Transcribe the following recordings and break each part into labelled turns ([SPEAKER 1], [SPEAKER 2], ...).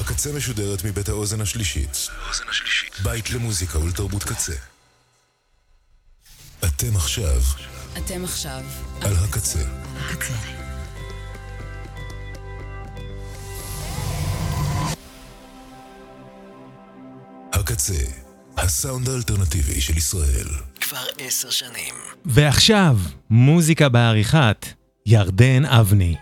[SPEAKER 1] הקצה משודרת מבית האוזן השלישית. בית למוזיקה ולתרבות קצה. אתם עכשיו על הקצה. הקצה, הסאונד האלטרנטיבי של ישראל.
[SPEAKER 2] כבר 10 שנים.
[SPEAKER 3] ועכשיו, מוזיקה בעריכת ירדן אבני.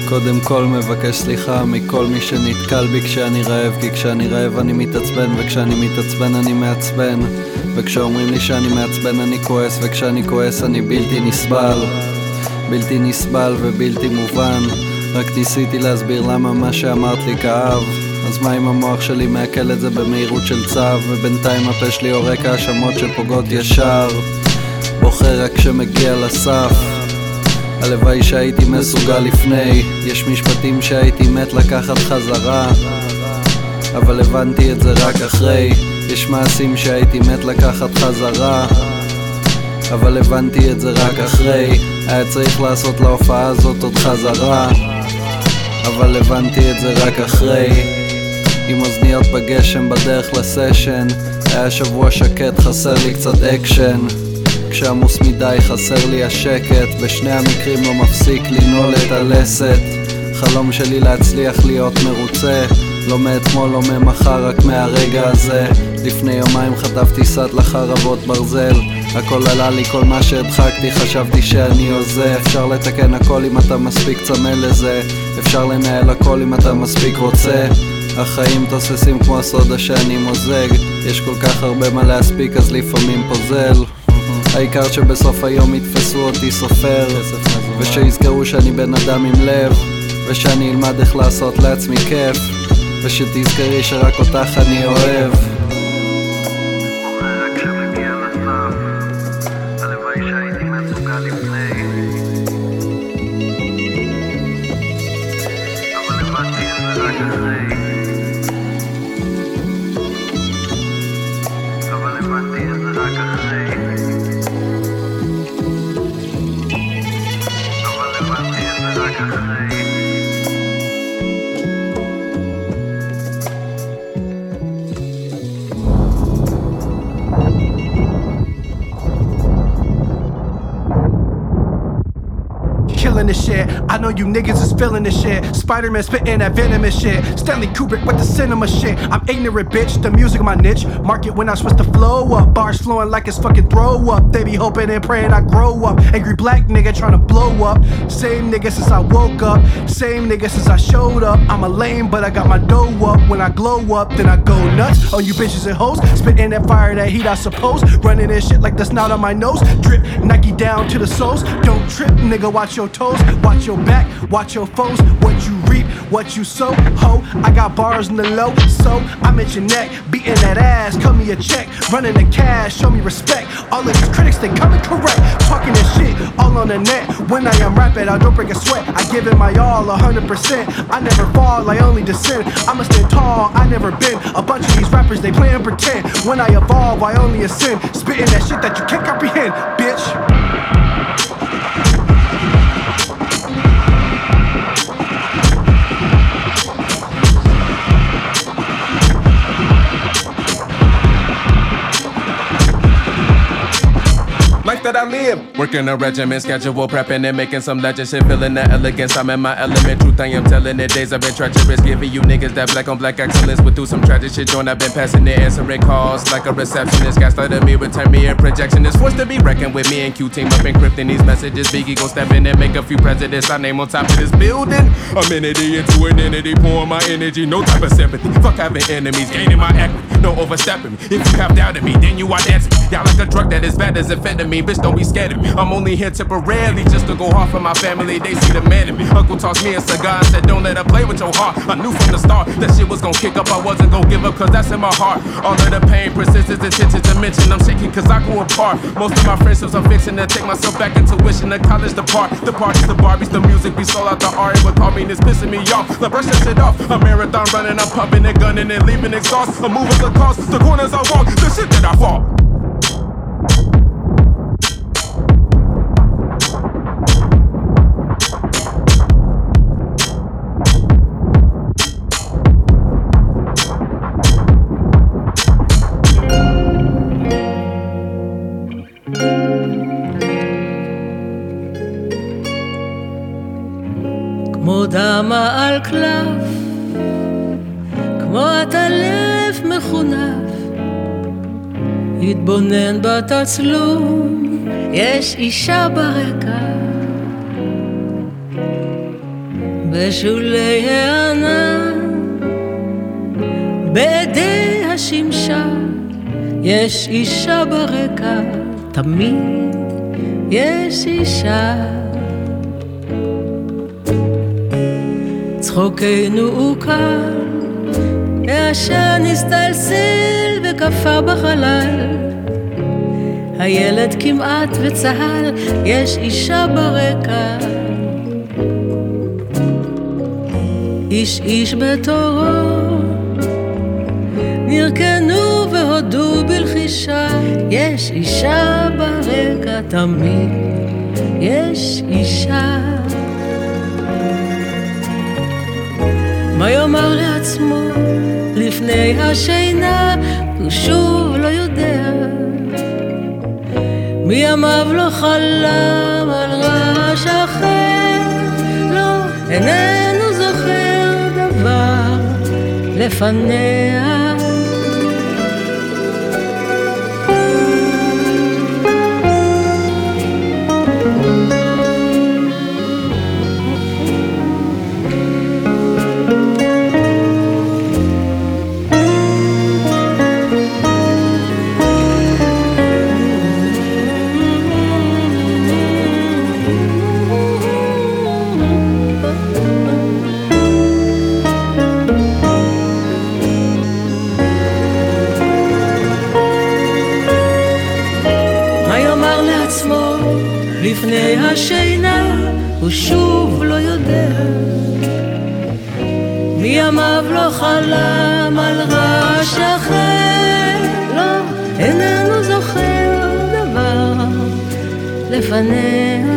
[SPEAKER 2] קודם כל מבקש סליחה מכל מי שנתקל בי כשאני רעב, כי כשאני רעב אני מתעצבן, וכשאני מתעצבן אני מעצבן, וכשאומרים לי שאני מעצבן אני כועס, וכשאני כועס אני בלתי נסבל, בלתי נסבל ובלתי מובן. רק ניסיתי להסביר למה מה שאמרת לי כאב, אז מה אם המוח שלי מעכל את זה במהירות של צו, ובינתיים הפה שלי עורק האשמות שפוגעות ישר, בוחר רק כשמגיע לסף. הלוואי שהייתי מסוגל לפני, יש משפטים שהייתי מת לקחת חזרה, אבל הבנתי את זה רק אחרי. יש מעשים שהייתי מת לקחת חזרה, אבל הבנתי את זה רק אחרי. היה צריך לעשות להופעה הזאת עוד חזרה, אבל הבנתי את זה רק אחרי. עם אוזניות בגשם בדרך לסשן, היה שבוע שקט, חסר לי קצת אקשן. כשעמוס מדי חסר לי השקט, בשני המקרים לא מפסיק לנעול את הלסת. חלום שלי להצליח להיות מרוצה, לא מאתמול, לא ממחר, רק מהרגע הזה. לפני יומיים חטפתי סד לחרבות ברזל, הכל עלה לי, כל מה שהדחקתי חשבתי שאני עושה. אפשר לתקן הכל אם אתה מספיק צמא לזה, אפשר לנהל הכל אם אתה מספיק רוצה. החיים תוססים כמו הסודה שאני מוזג, יש כל כך הרבה מה להספיק אז לפעמים פוזל. העיקר שבסוף היום יתפסו אותי סופר, ושיזכרו שאני בן אדם עם לב, ושאני אלמד איך לעשות לעצמי כיף, ושתזכרי שרק אותך אני אוהב. רק כשמגיע לסף, הלוואי שהייתי מסוגל לפני, אבל הבנתי את זה רק אחרי, אבל הבנתי את זה רק אחרי.
[SPEAKER 4] Killing this shit, I know you niggas is feeling this shit. Spider-Man spitting that venomous shit, Stanley Kubrick with the cinema shit. I'm ignorant bitch, the music my niche. Market when I switch the flow up, bars flowing like it's fucking throw up. They be hoping and praying I grow up. Angry black nigga tryna blow up. Same nigga since I woke up, same nigga since I showed up. I'm a lame but I got my dough up. When I glow up then I go nuts on you bitches and hoes. Spitting that fire, that heat I suppose. Running this shit like the snout on my nose. Drip Nike down to the soles. Don't trip nigga, watch your toes, watch your back, watch your foes. What you reap, what you sow, ho. I got bars in the low, so I'm at your neck, beating that ass. Cut me a check, running the cash, show me respect. All of these critics, they coming correct, talking this shit all on the net. When I am rapping, I don't break a sweat. I give it my all, 100%. I never fall, I only descend. I'ma stand tall, I never been. A bunch of these rappers, they play and pretend. When I evolve, I only ascend. Spitting that shit that you can't comprehend, bitch.
[SPEAKER 5] Life that I live, working a regimen, schedule prepping and making some legend shit, feeling the elegance. I'm in my element, truth I am telling it. Days I've been treacherous, giving you niggas that black on black excellence. But through some tragic shit, joint I've been passing it, answering calls like a receptionist. Gaslighting me, return me in projection. It's forced to be reckoned with me and Q team up encrypting these messages. Biggie gon' step in and make a few presidents. I name on top of this building. Amenity into an entity, pouring my energy, no type of sympathy. Fuck having enemies, gaining my equity, no overstepping me. If you have doubted me, then you are dancing. Y'all like a drug that is bad as amphetamine. Bitch, don't be scared of me. I'm only here temporarily just to go hard for my family. They see the man in me. Uncle tossed me a cigar and said, don't let her play with your heart. I knew from the start that shit was gon' kick up. I wasn't gon' give up cause that's in my heart. All of the pain, persistence, intention to mention. I'm shaking cause I grew apart. Most of my friendships I'm fixing to take myself back into wishing the college depart. The parties, the Barbies, the music, we sold out the Ari. But call me and it's pissing me off. Like brush that shit off. A marathon running, I'm pumping and gunning and leaving exhaust. I'm moving the cost, the corners I walk, the shit that I fall.
[SPEAKER 6] כמו דמה על קלף, כמו הטלף מחונף, התבונן בתצלום, יש אישה ברקע, בשולי הענן, בידי השמשה, יש אישה ברקע, תמיד יש אישה. צחוקנו הוא קל, העשן הסתלסל וקפה בחלל, הילד כמעט וצהל, יש אישה ברקע. איש איש בתורו, נרקנו והודו בלחישה, יש אישה ברקע, תמיד יש אישה. מה יאמר לעצמו לפני השינה, הוא שוב לא יודע, מימיו לא חלם על רעש אחר, לא, איננו זוכר דבר לפניה. לפני השינה הוא שוב לא יודע, מימיו לא חלם על רעש אחר, לא, איננו זוכר דבר לפניה.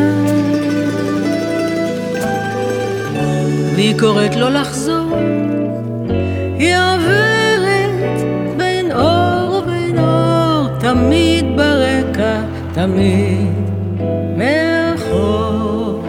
[SPEAKER 6] והיא קוראת לו לחזור, היא עוברת בין אור ובין אור, תמיד ברקע, תמיד מאחור.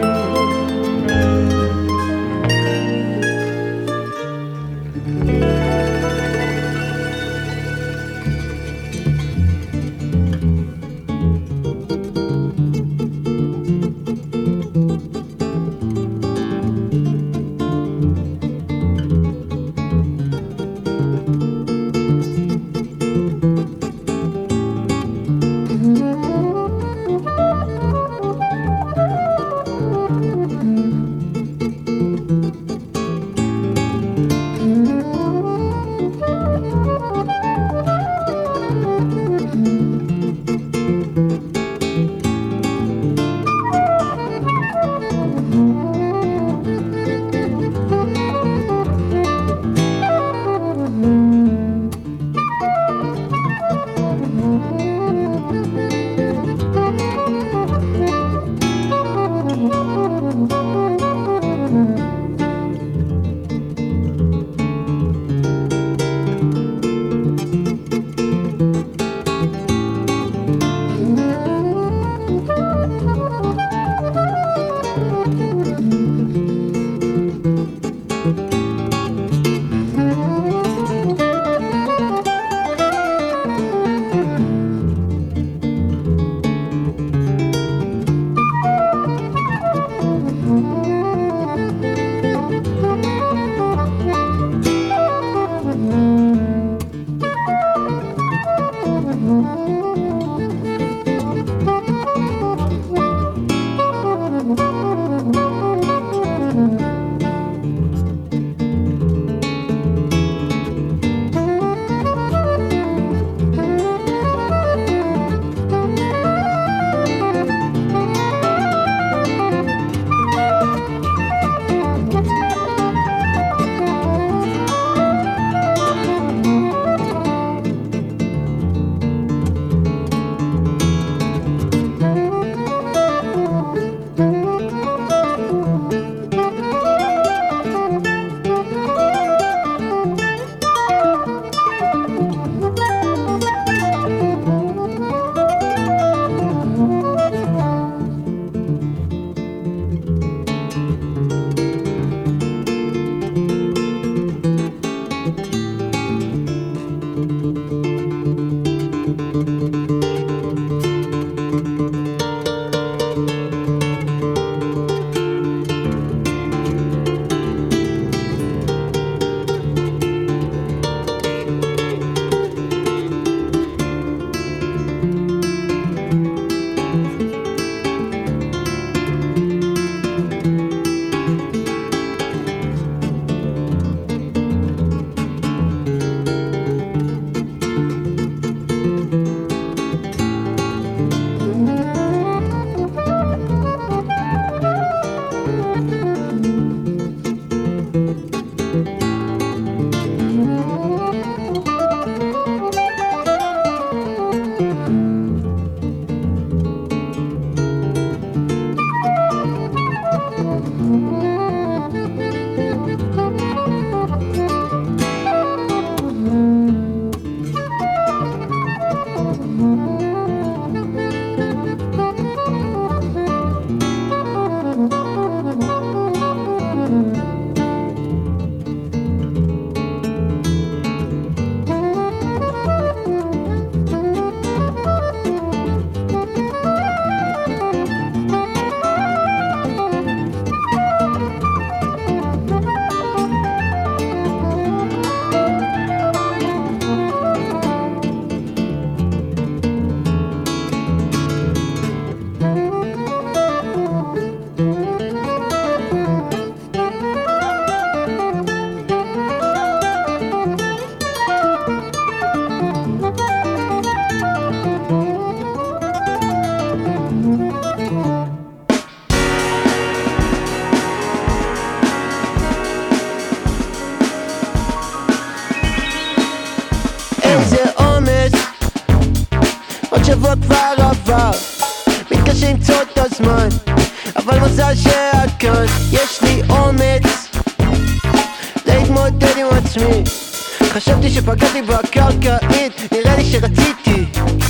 [SPEAKER 7] הזמן, אבל מזל שאת כאן. יש לי אומץ להתמודד עם עצמי. חשבתי שפגעתי בקרקעית, נראה לי שרציתי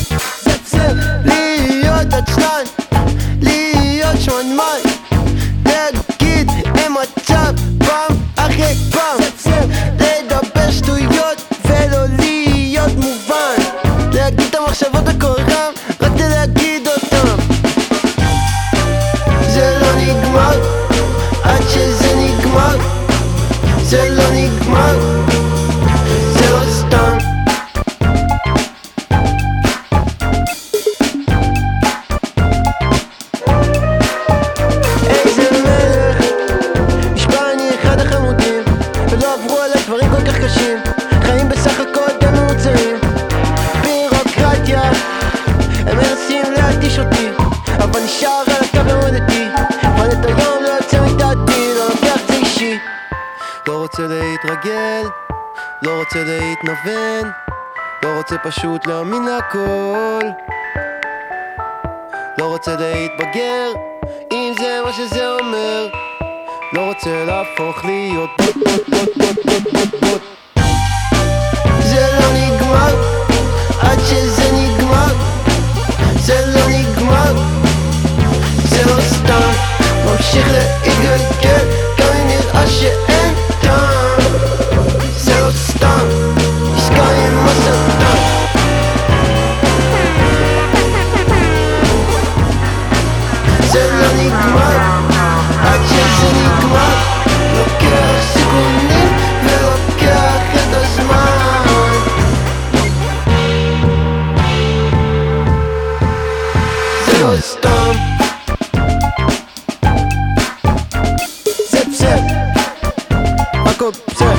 [SPEAKER 7] להיות עצלן, להיות שמנמן, להגיד אין מצב פעם אחרי פעם, לדבר שטויות ולא להיות מובן, להגיד את המחשבות בקורם, רק להגיד אותם. זה לא נגמר עד שזה נגמר, זה לא נגמר, זה לא סתם. איזה מלך, נשבע אני אחד החמודים, ולא עברו עליי דברים כל כך קשים, חיים בסך הכל די ממוצעים. בירוקרטיה, הם מנסים להתיש אותי, אבל נשאר על הקו למודתי, אבל את היום לא יוצא מדעתי, לא לוקח זה אישי. לא רוצה להתרגל, לא רוצה להתנוון, לא רוצה פשוט להאמין להכל, לא רוצה להתבגר, אם זה מה שזה אומר, לא רוצה להפוך להיות בוט. זה לא נגמר עד שזה נגמר, זה לא נגמר, זה לא סתם, ממשיך להתגלגל גם אם נראה שאין טעם, זה לא סתם, עסקה עם השטן. זה לא נגמר עד שזה נגמר, לוקח סיכונים ולוקח את הזמן. זה לא סתם, זה בסדר, הכל בסדר.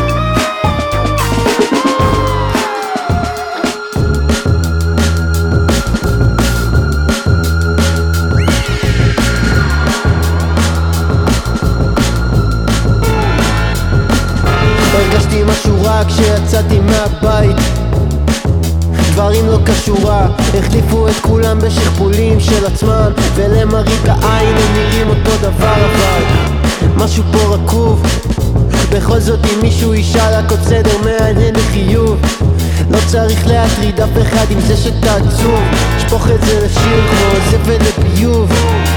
[SPEAKER 7] הרגשתי משהו רע כשיצאתי מהבית, דברים לא כשורה, החליפו את כולם בשכפולים של עצמם, ולמראית העין הם נראים אותו דבר, אבל משהו פה רקוב. בכל זאת אם מישהו ישאל הכל בסדר, מעניין לחיוב, לא צריך להטריד אף אחד עם זה שתעצוב, שפוך את זה לשיר כמו זבל לביוב.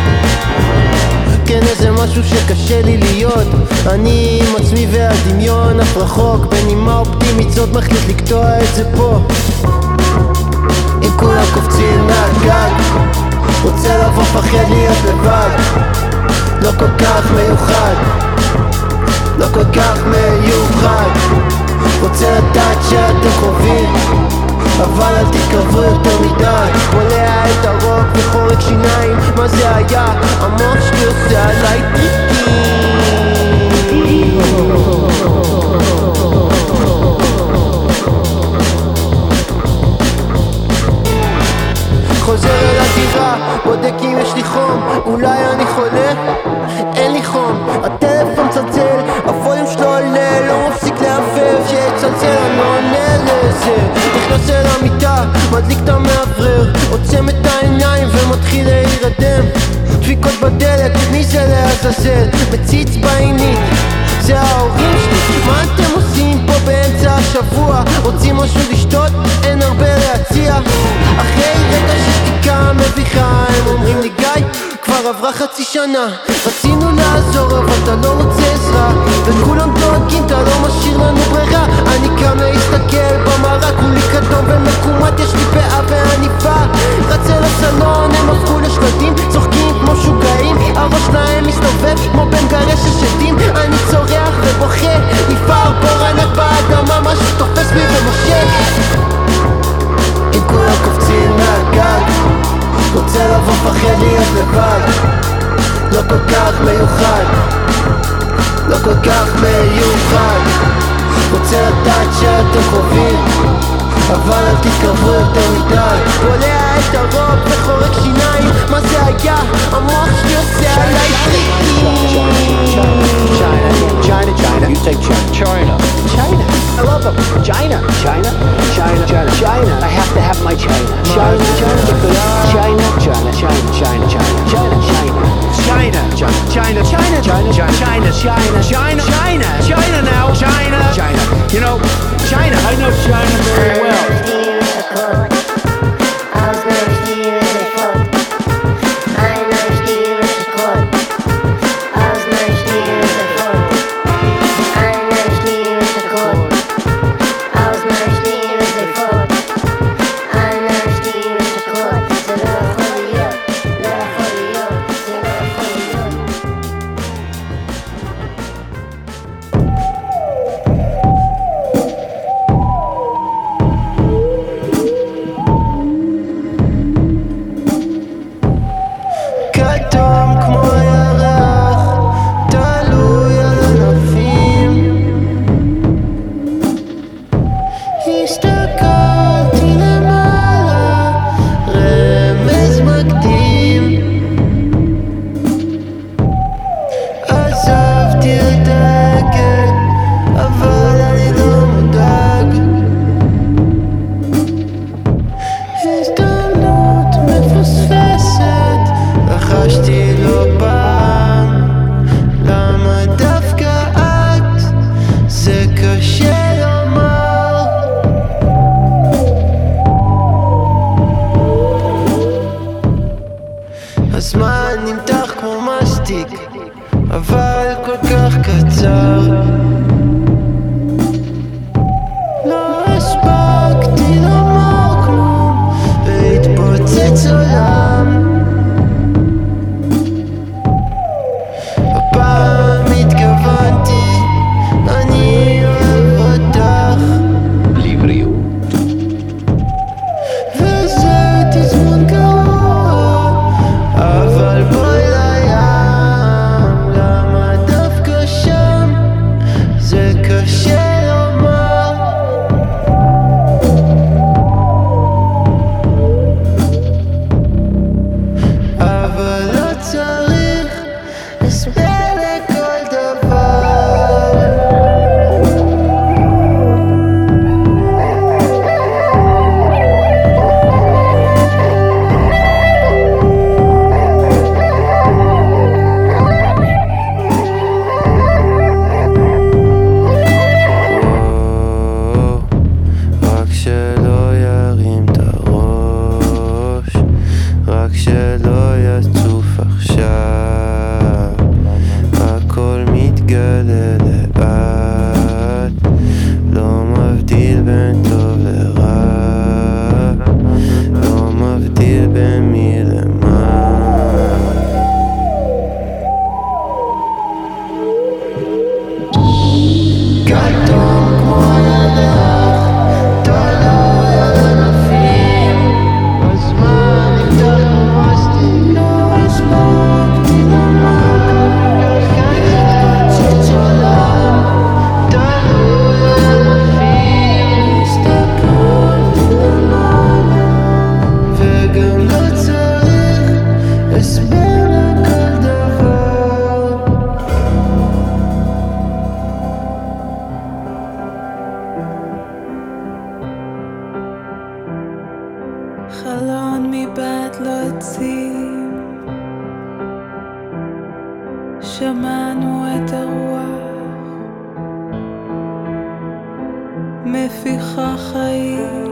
[SPEAKER 7] כן, איזה משהו שקשה לי להיות, אני עם עצמי והדמיון אף רחוק, בנימה אופטימית זאת מחליט לקטוע את זה פה. אם כולם קופצים מהגג, רוצה לבוא פחד להיות לבד, לא כל כך מיוחד, לא כל כך מיוחד, רוצה לדעת שאתם קרובים, אבל אל תתקרבו יותר מדי, מולע את הרוק וחורק שיניים, מה זה היה? המוח שלי עושה עליי טריקים. חוזר אל הדירה, בודק אם יש לי חום, אולי אני חולה? אין לי חום, הטלפון צלצל, הווליום שלו עולה, לא מפסיק להעבב, שיצלצל אני לא עונה לזה. נכנס אל המיטה, מדליק את המעברר, עוצם את העיניים ומתחיל להירדם, דפיקות בדלת, מי זה לעזאזל? מציץ בעינית, זה ההורים שלי, מה אתם עושים פה באמצע השבוע? רוצים משהו לשתות? אין הרבה להציע. אחרי רגע שתיקה מביכה הם אומרים לי גיא, כבר עברה חצי שנה, רצינו לעזור אבל אתה לא רוצה עזרה, וכולם דואגים אתה לא משאיר לנו ברירה. אני קם להסתכל במראה, כולי כתום ומקומט, יש לי פאה ועניפה, רצה לסלון הם הפכו לשלדים, צוחקים כמו שוגעים, הראש שלהם מסתובב כמו בן גרש של שדים. אני צורח ובוכה, נפער בור ענק באדמה, משהו תופס בי ומושך. אם כולם קופצים מהגג, רוצה לבוא פחד להיות לבד, לא כל כך מיוחד, לא כל כך מיוחד, רוצה לדעת שאתם קרובים, אבל אל תתקרבו יותר מדי, בולע את הרוק וחורק שיניים, מה זה היה? המוח שלי עושה עליי טריקים. China, you take China. I love them. China. I have to have my China. China, because China. כתום כמו ירח, תלוי על ענפים. הסתכלתי למעלה, רמז מקדים. עזבתי את העגל, אבל אני לא מודאג. הזדמנות מפספסת, לחשתי לא פעם, למה דווקא את? זה קשה לומר. הזמן נמתח כמו מסטיק, אבל כל כך קצר. לא הספקתי לומר כלום, והתפוצץ עולם. הפעם התכוונתי, אני אוהב אותך. ליבריות. וזה תזמון גרוע, אבל בואי לים, למה דווקא שם? זה קשה לומר. אבל לא צריך הסבר לכל דבר. רק שלא ירים את הראש, רק שלא יצוף עכשיו, הכל מתגלה לאט, לא מבדיל בין טוב לרע, לא מבדיל בין מי למה. כתום כמו ירח, תלוי על ענפים. הזמן נמתח כמו מסטיק, לא הספקתי לומר, התפוצץ עולם, תלוי על ענפים. הסתכלתי למעלה, וגם לא צריך הסבר לכל דבר. חלון מבית לא עצים, שמענו את הרוח מפיחה חיים.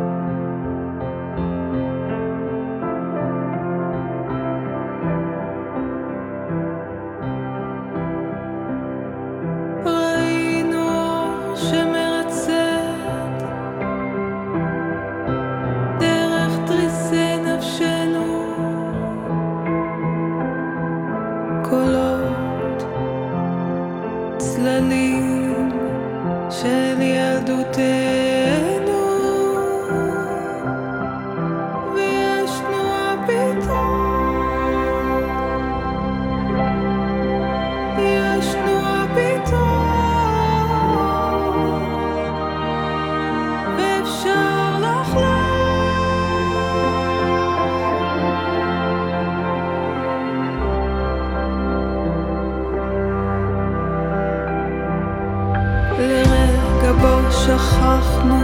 [SPEAKER 7] ראינו אור שמרצד דרך תריסי נפשנו, קולות, צללים של ילדותנו, וישנו הפתרון, ישנו הפתרון, ואפשר לחלום. לרגע בו שכחנו,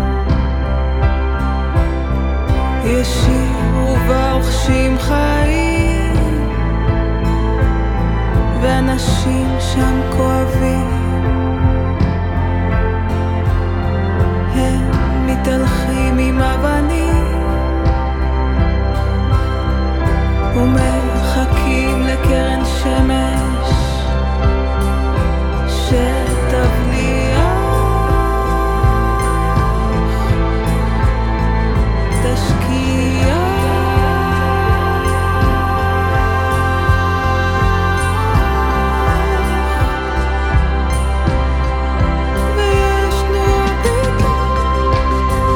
[SPEAKER 7] ישירו והרוכשים חיים, ואנשים שם כואבים, הם מתהלכים עם אבנים ומחכים לקרן שמש שתבליח, תשקיע.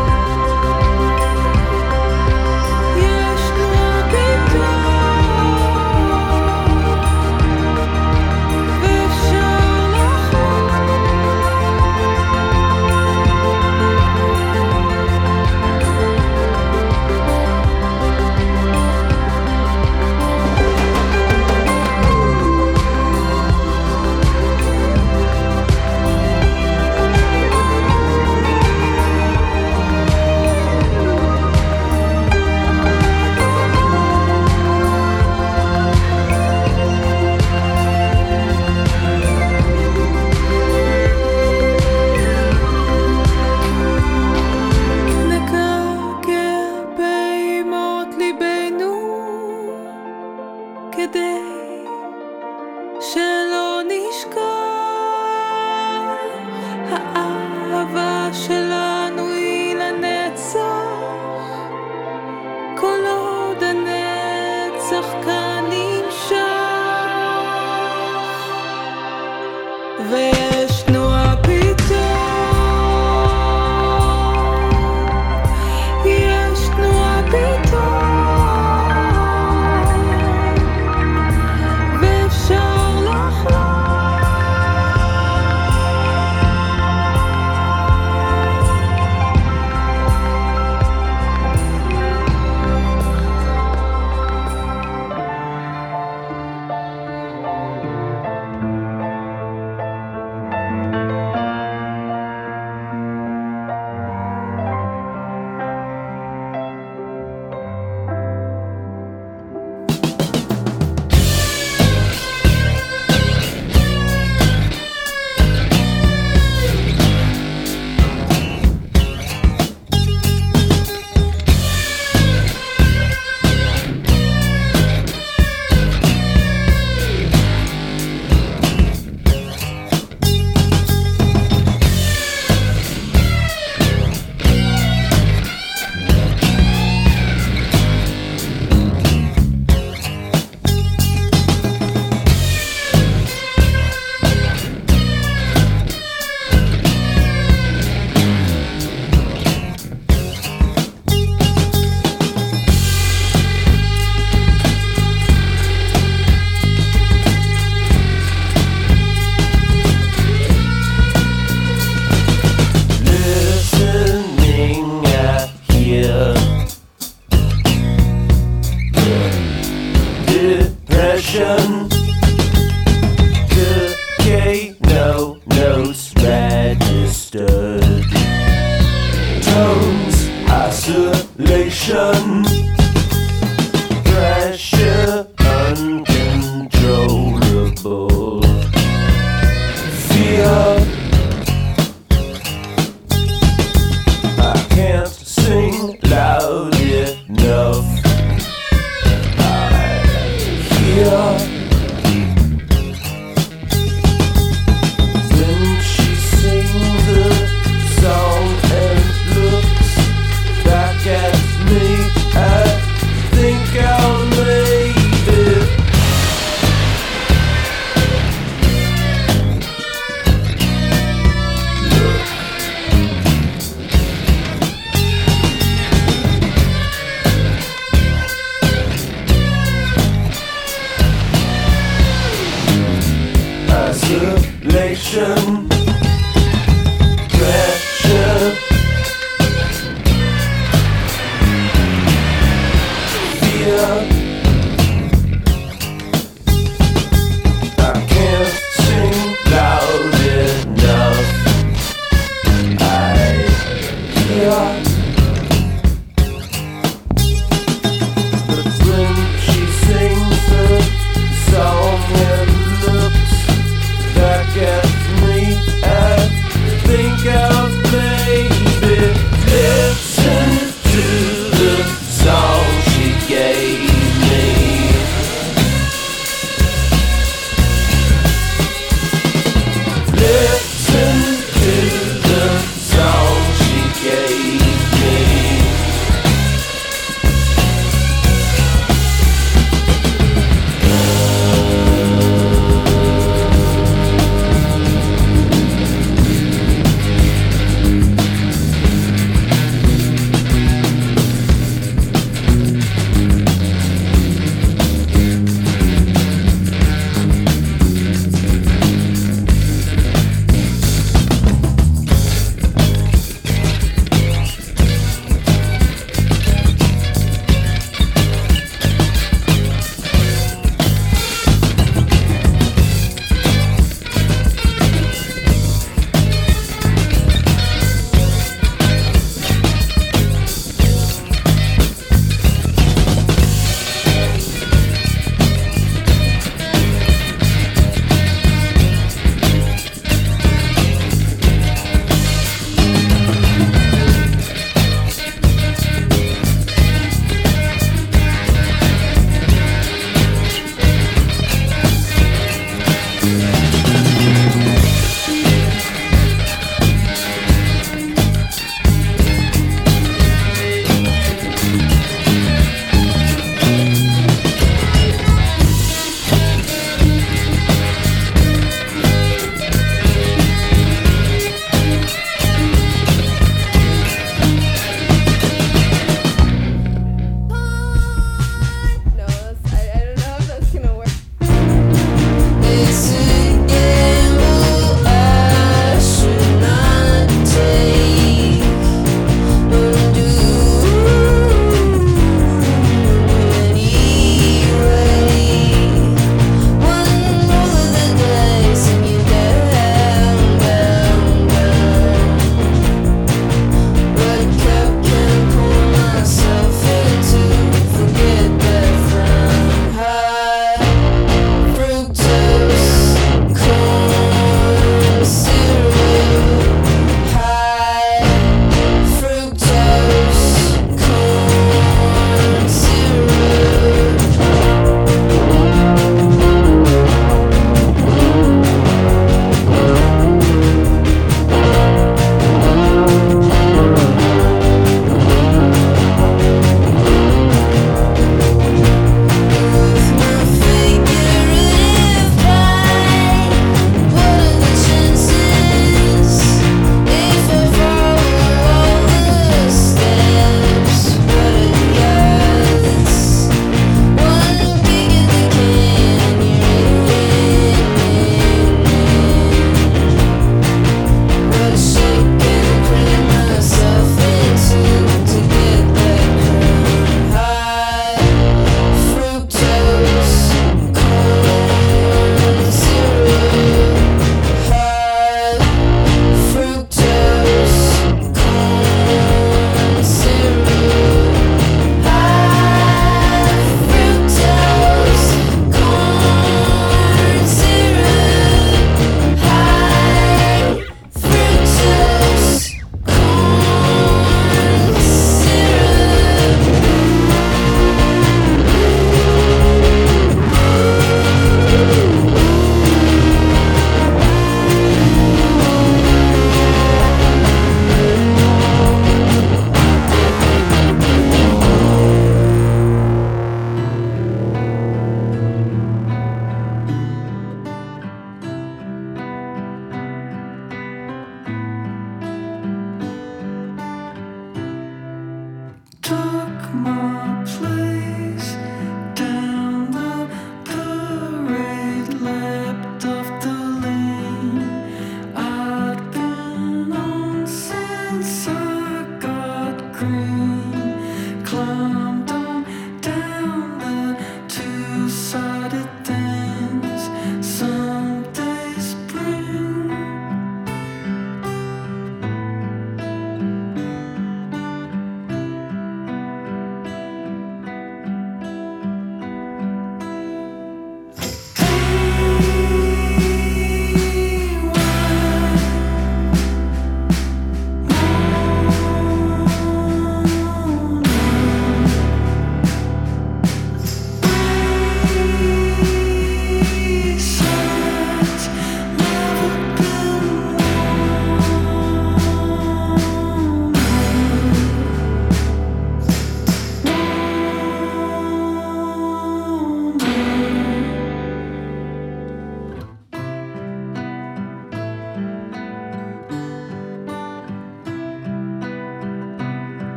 [SPEAKER 7] וישנו הפתרון,
[SPEAKER 6] כדי שלא נשכח, האהבה שלנו היא לנצח, כל עוד הנצח כאן נמשך, ויש תנועה פתאום, יש תנועה פתאום,
[SPEAKER 7] song and looks back at me.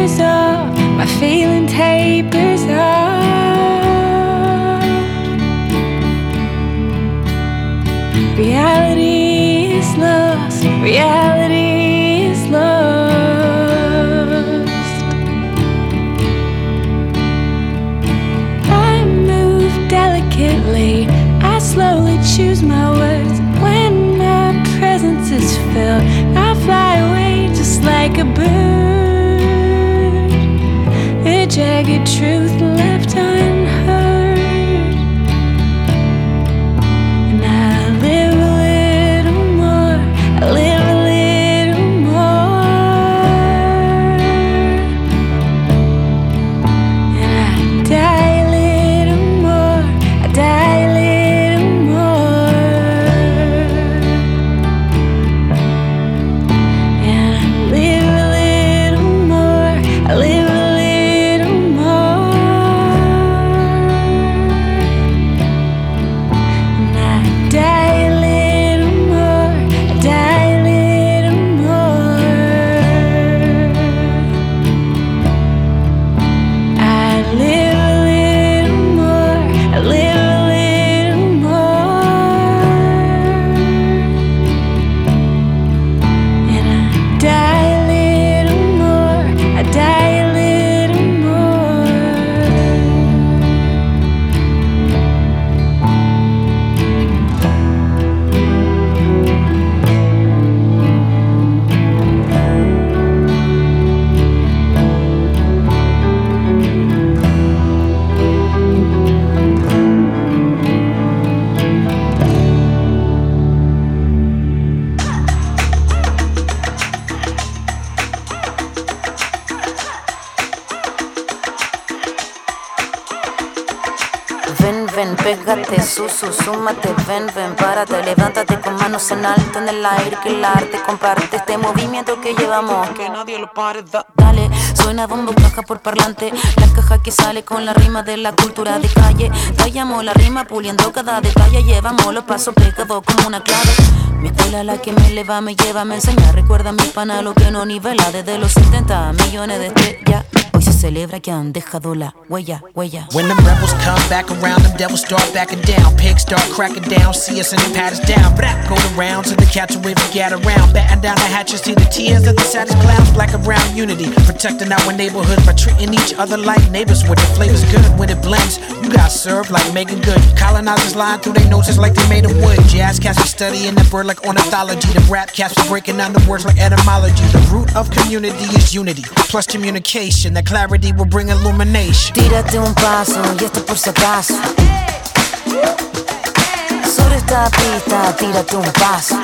[SPEAKER 6] tapers off, my feeling tapers off. Reality is lost, reality is lost. I move delicately, I slowly choose my words. When my presence is filled, I fly away just like a bird. A jagged truth left unheard. And I live a little more, I live a little more. And I die a little more, I die a little more. And I live a little more, I live a little more. And I die a little more, I die a little more. I live a little more, I live a little more. And I die a little more, I die a little more.
[SPEAKER 8] Ven, ven, pégate, súmate, ven, ven, párate, levántate con manos en alto en el aire, que el arte comparte este movimiento que llevamos, que nadie lo pare, dale, suena bombo, caja por parlante, la caja que sale con la rima de la cultura de calle, tallamos la rima puliendo cada detalle, llevamos los pasos pegados como una clave, mi escuela la que me eleva, me lleva, me enseña, recuerda mi pana lo que no nivela, desde los 70 millones de estrellas, hoy se celebra que han dejado la huella.
[SPEAKER 9] When them rebels come back around, them devils start backing down. Pigs start cracking down, see us and they pat us down. Black go around to the catch a wave and get around. Batten down the hatches, see the tears of the saddest clowns. Black around unity, protecting our neighborhood by treating each other like neighbors. With the flavors good, when it blends, you got served like Megan Good. Colonizers lying through their noses like they made of wood. Jazz cats be studying the bird like ornithology. The rap cats be breaking down the words like etymology. The root of community is unity, plus communication. That clarity will bring illumination.
[SPEAKER 8] Tírate un paso y esto por si acaso. Sobre esta pista, tírate un paso.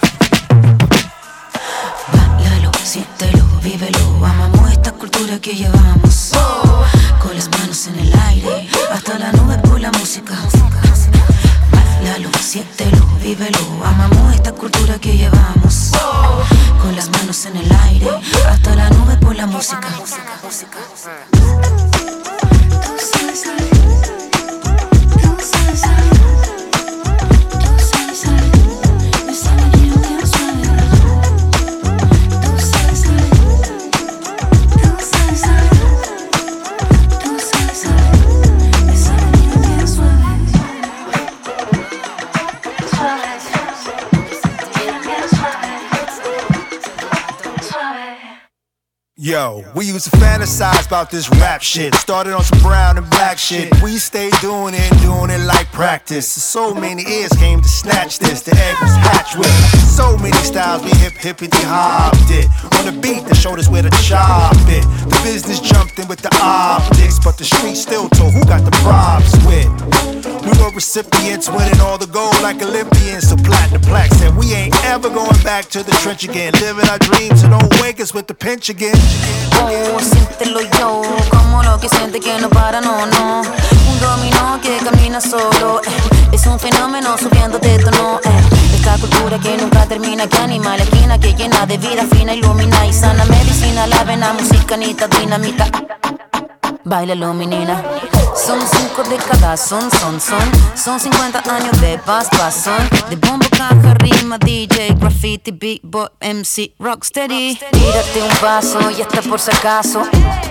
[SPEAKER 8] Báilalo, siéntelo, vívelo. Amamos esta cultura que llevamos. Con las manos en el aire, hasta la nube por la música. Báilalo, siéntelo, vívelo. Amamos esta cultura que llevamos. Con las manos en el aire, hasta la nube por la música.
[SPEAKER 10] Yo, we used to fantasize about this rap shit. Started on some brown and black shit. We stayed doing it like practice. So many ears came to snatch this. The egg was hatched with so many styles. We hippity hopped it on the beat that showed us where to chop it. The business jumped in with the optics, but the street still told who got the props with. We were recipients, winning all the gold like Olympians. So platinum plaque said we ain't ever going back to the trench again. Living our dreams, so don't wake us with the pinch again.
[SPEAKER 8] Oh, siéntelo yo, como lo que siente que no para, no. Un dominó que camina solo, es un fenómeno subiendo de tono, Esta cultura que nunca termina, que anima la esquina, que llena de vida fina, ilumina y sana medicina, la vena, música, nita, dinamita. Báilalo, menina, Son 5 décadas, son 50 años de paz, de bombo, caja, rima, DJ, graffiti, beatboy, MC, rocksteady. Tírate un paso y hasta por si acaso.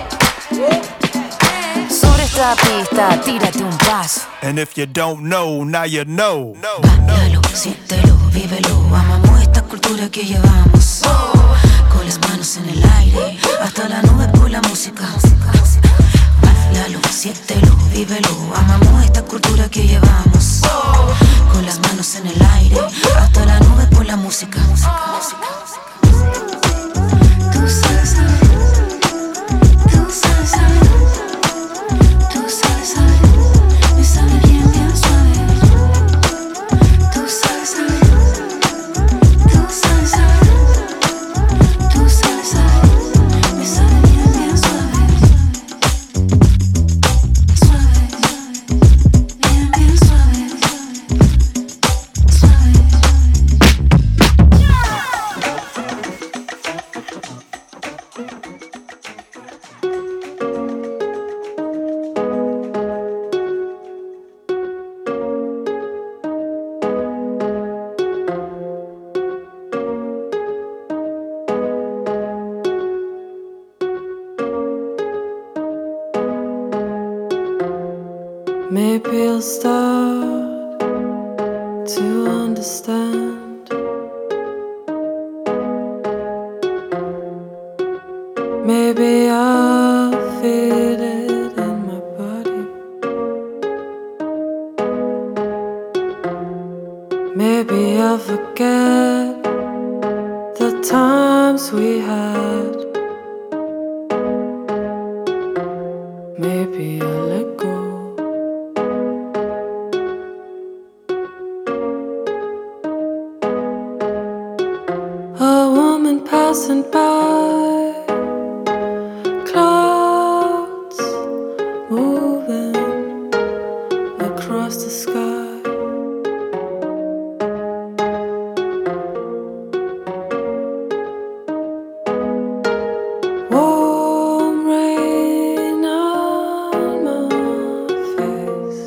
[SPEAKER 8] Sobre esta pista, tírate un paso.
[SPEAKER 10] And if you don't know, now you know.
[SPEAKER 8] Bailalo, siéntelo, vívelo. Amamos esta cultura que llevamos. Con las manos en el aire, hasta la nube por la música. Bailalo, siéntelo, vívelo. Amamos esta cultura que llevamos. Con las manos en el aire, hasta la nube por la música. Tú sabes, tú sabes, tú sabes, me sabe bien, bien suave. Tú sabes, tú sabes, tú sabes, me sabe bien, bien suave. Suave, bien, bien suave. Suave.
[SPEAKER 6] Maybe I'll start to understand. Maybe I'll feel it in my body. Maybe I'll forget the times we had. Maybe I'll let go. A woman passing by, clouds moving across the sky. Warm rain on my face.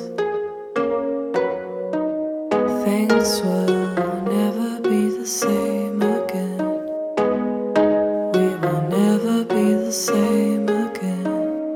[SPEAKER 6] Things will never be the same again. We will never be the same again.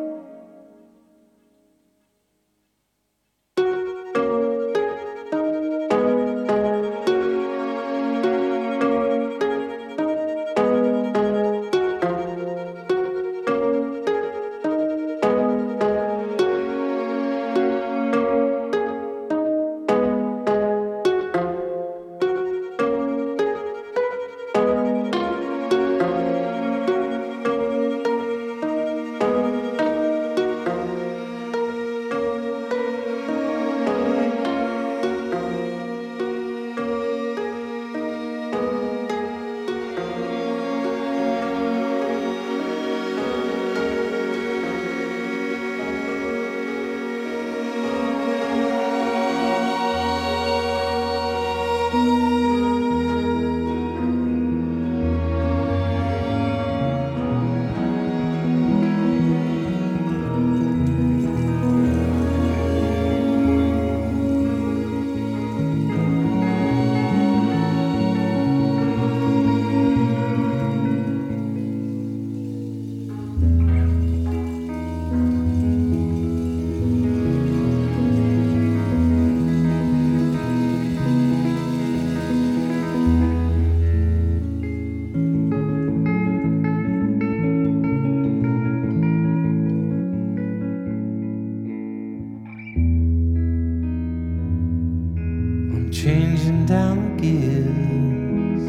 [SPEAKER 11] changing down the gears.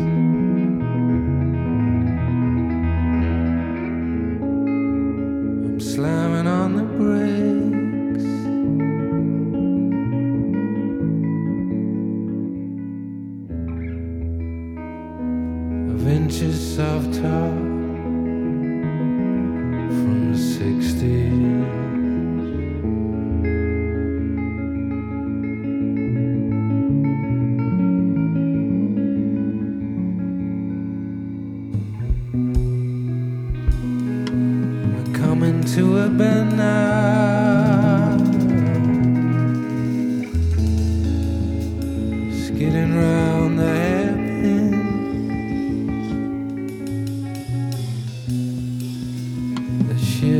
[SPEAKER 11] I'm slamming on the brakes. Of inches of top from the 60s. To a bend now.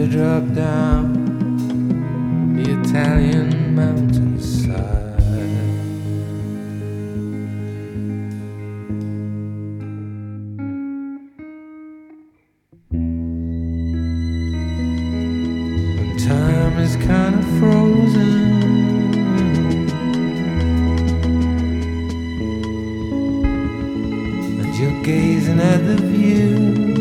[SPEAKER 11] drop down the Italian mountainside. When time is kind of frozen, and you're gazing at the view,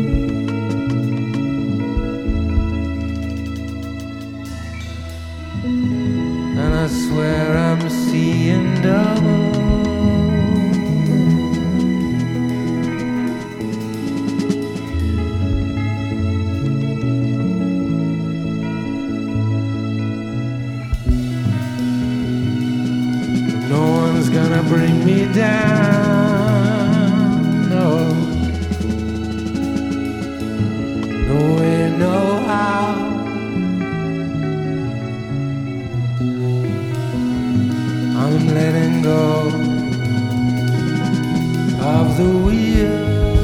[SPEAKER 11] I swear I'm seeing double. No one's gonna bring me down, no. No way, no how. I'm letting go of the wheel.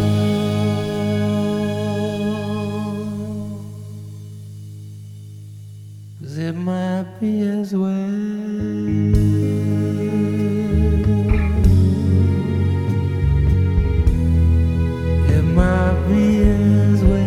[SPEAKER 11] 'Cause it might be as well. It might be as well.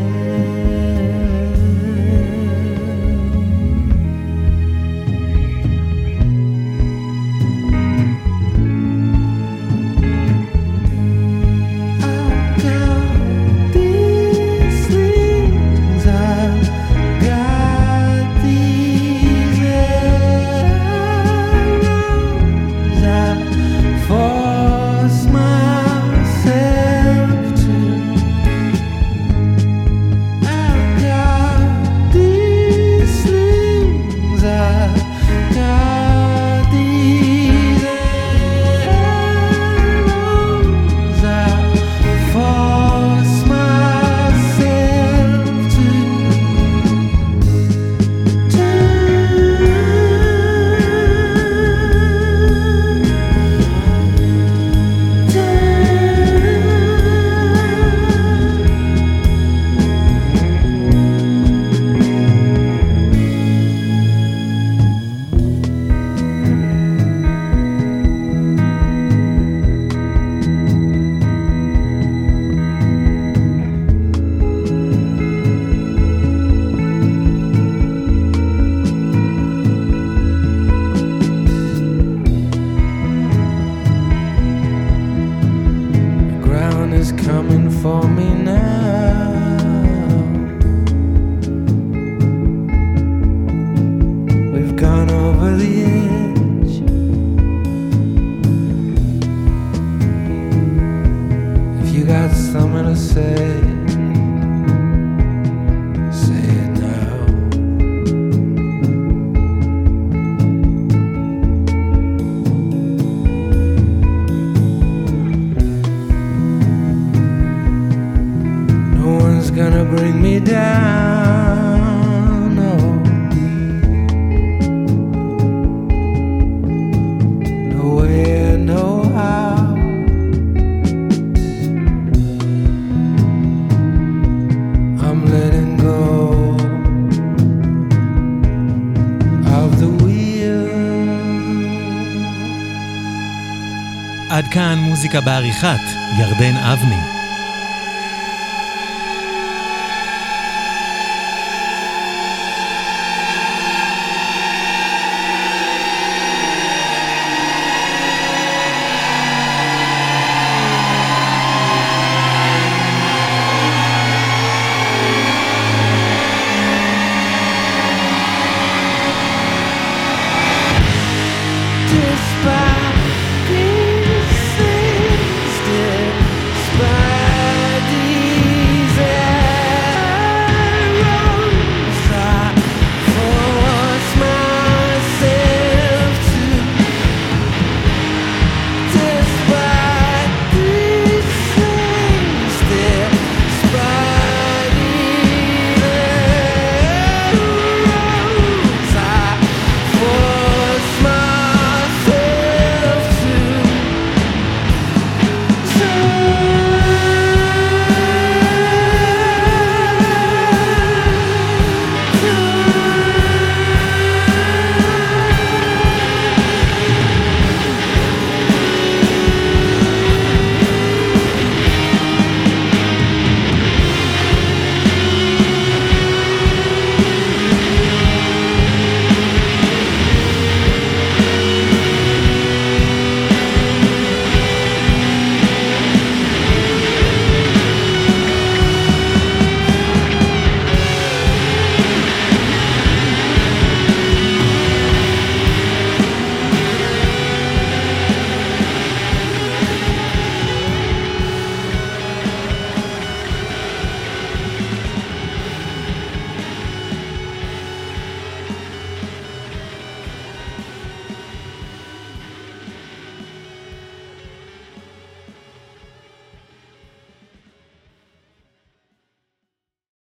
[SPEAKER 3] עד כאן מוזיקה בעריכת ירדן אבני.